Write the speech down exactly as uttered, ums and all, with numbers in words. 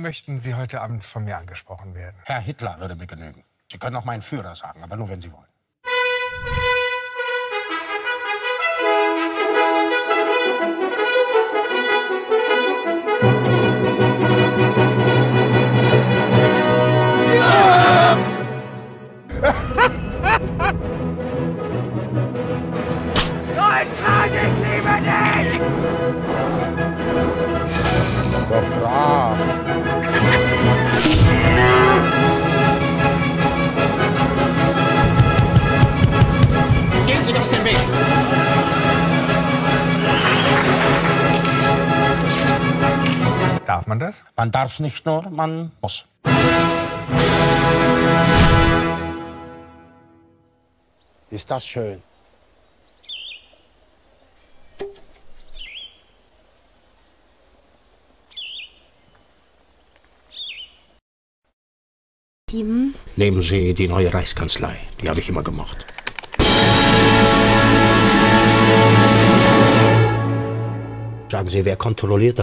möchten Sie heute Abend von mir angesprochen werden? Herr Hitler würde mir genügen. Sie können auch meinen Führer sagen, aber nur, wenn Sie wollen. Deutschland, ich liebe dich! So brav. Gehen Sie mir aus dem Weg! Darf man das? Man darf nicht nur, man muss. Ist das schön? Tim? Nehmen Sie die neue Reichskanzlei. Die habe ich immer gemocht. Sagen Sie, wer kontrolliert das?